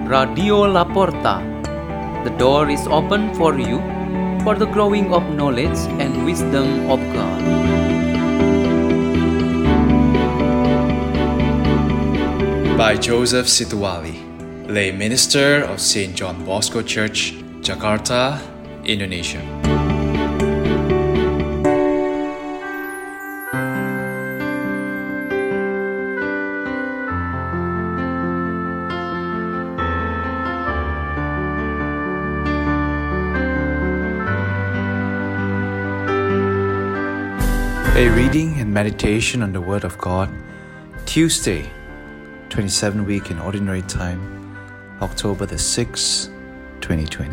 Radio La Porta. The door is open for you for the growing of knowledge and wisdom of God. By Joseph Situwali, lay minister of St. John Bosco Church, Jakarta, Indonesia. A reading and meditation on the Word of God, Tuesday, 27 week in Ordinary Time, October the 6th, 2020.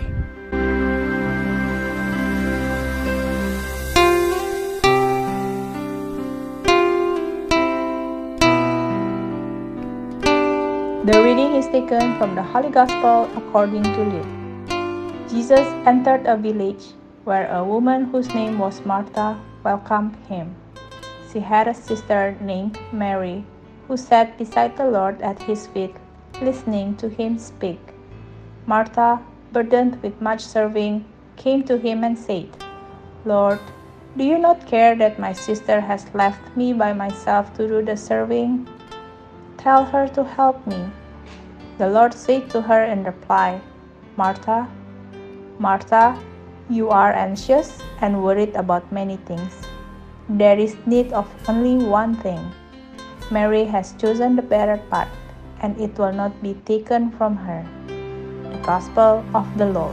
The reading is taken from the Holy Gospel according to Luke. Jesus entered a village where a woman whose name was Martha welcomed him. She had a sister named Mary, who sat beside the Lord at his feet, listening to him speak. Martha, burdened with much serving, came to him and said, "Lord, do you not care that my sister has left me by myself to do the serving? Tell her to help me." The Lord said to her in reply, "Martha, Martha, you are anxious and worried about many things. There is need of only one thing. Mary has chosen the better part, and it will not be taken from her." The Gospel of the Lord.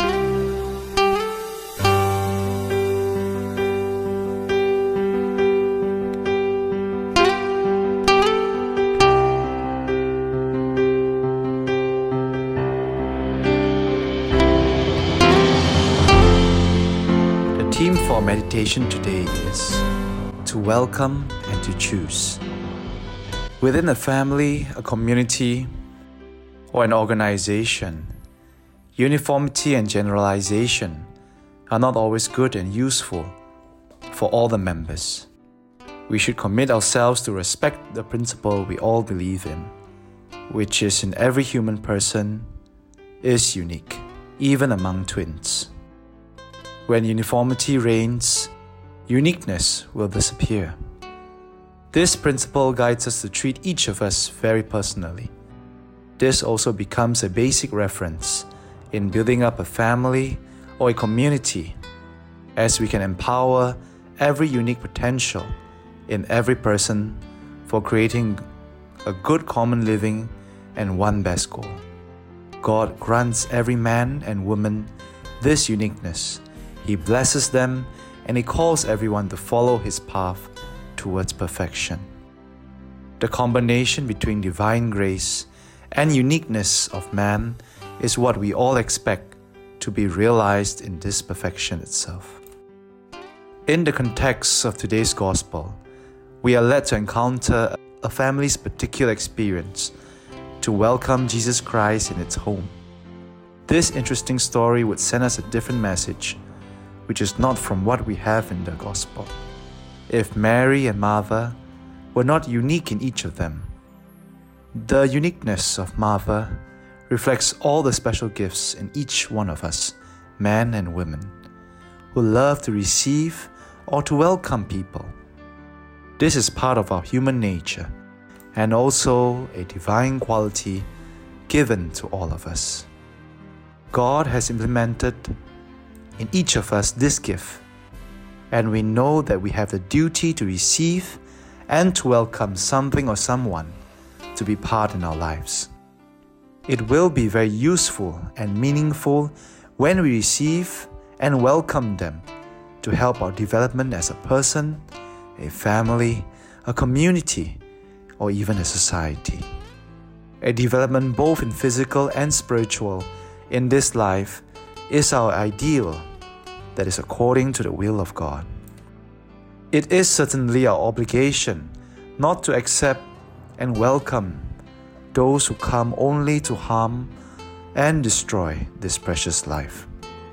The theme for meditation today is to welcome and to choose. Within a family, a community, or an organization, uniformity and generalization are not always good and useful for all the members. We should commit ourselves to respect the principle we all believe in, which is in every human person is unique, even among twins. When uniformity reigns, uniqueness will disappear. This principle guides us to treat each of us very personally. This also becomes a basic reference in building up a family or a community, as we can empower every unique potential in every person for creating a good common living and one best goal. God grants every man and woman this uniqueness. He blesses them and He calls everyone to follow His path towards perfection. The combination between divine grace and uniqueness of man is what we all expect to be realized in this perfection itself. In the context of today's Gospel, we are led to encounter a family's particular experience to welcome Jesus Christ in its home. This interesting story would send us a different message, which is not from what we have in the Gospel. If Mary and Martha were not unique in each of them, the uniqueness of Martha reflects all the special gifts in each one of us, men and women, who love to receive or to welcome people. This is part of our human nature and also a divine quality given to all of us. God has implemented in each of us this gift, and we know that we have the duty to receive and to welcome something or someone to be part in our lives. It will be very useful and meaningful when we receive and welcome them to help our development as a person, a family, a community, or even a society. A development both in physical and spiritual in this life is our ideal that is according to the will of God. It is certainly our obligation not to accept and welcome those who come only to harm and destroy this precious life.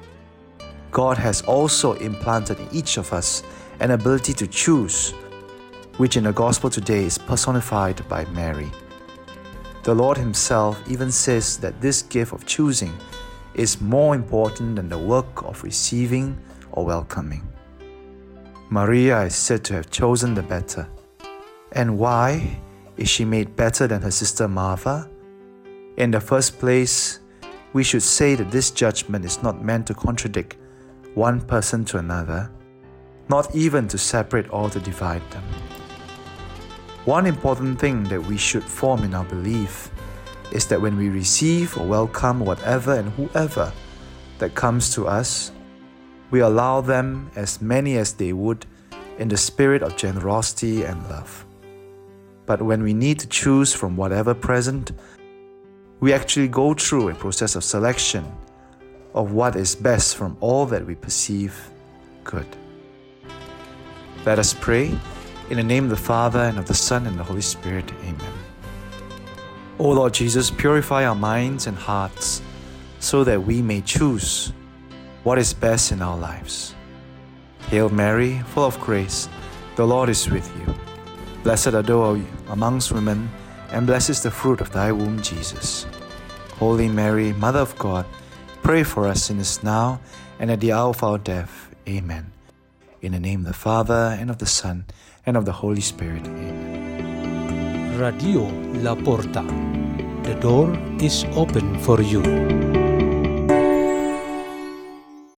God has also implanted in each of us an ability to choose, which in the Gospel today is personified by Mary. The Lord Himself even says that this gift of choosing is more important than the work of receiving or welcoming. Maria is said to have chosen the better. And why is she made better than her sister Martha? In the first place, we should say that this judgment is not meant to contradict one person to another, not even to separate or to divide them. One important thing that we should form in our belief is that when we receive or welcome whatever and whoever that comes to us, we allow them as many as they would in the spirit of generosity and love. But when we need to choose from whatever present, we actually go through a process of selection of what is best from all that we perceive good. Let us pray. In the name of the Father, and of the Son, and the Holy Spirit. Amen. O Lord Jesus, purify our minds and hearts so that we may choose what is best in our lives. Hail Mary, full of grace, the Lord is with you. Blessed art thou amongst women, and blessed is the fruit of thy womb, Jesus. Holy Mary, Mother of God, pray for us sinners now and at the hour of our death. Amen. In the name of the Father, and of the Son, and of the Holy Spirit. Amen. Radio La Porta. The door is open for you.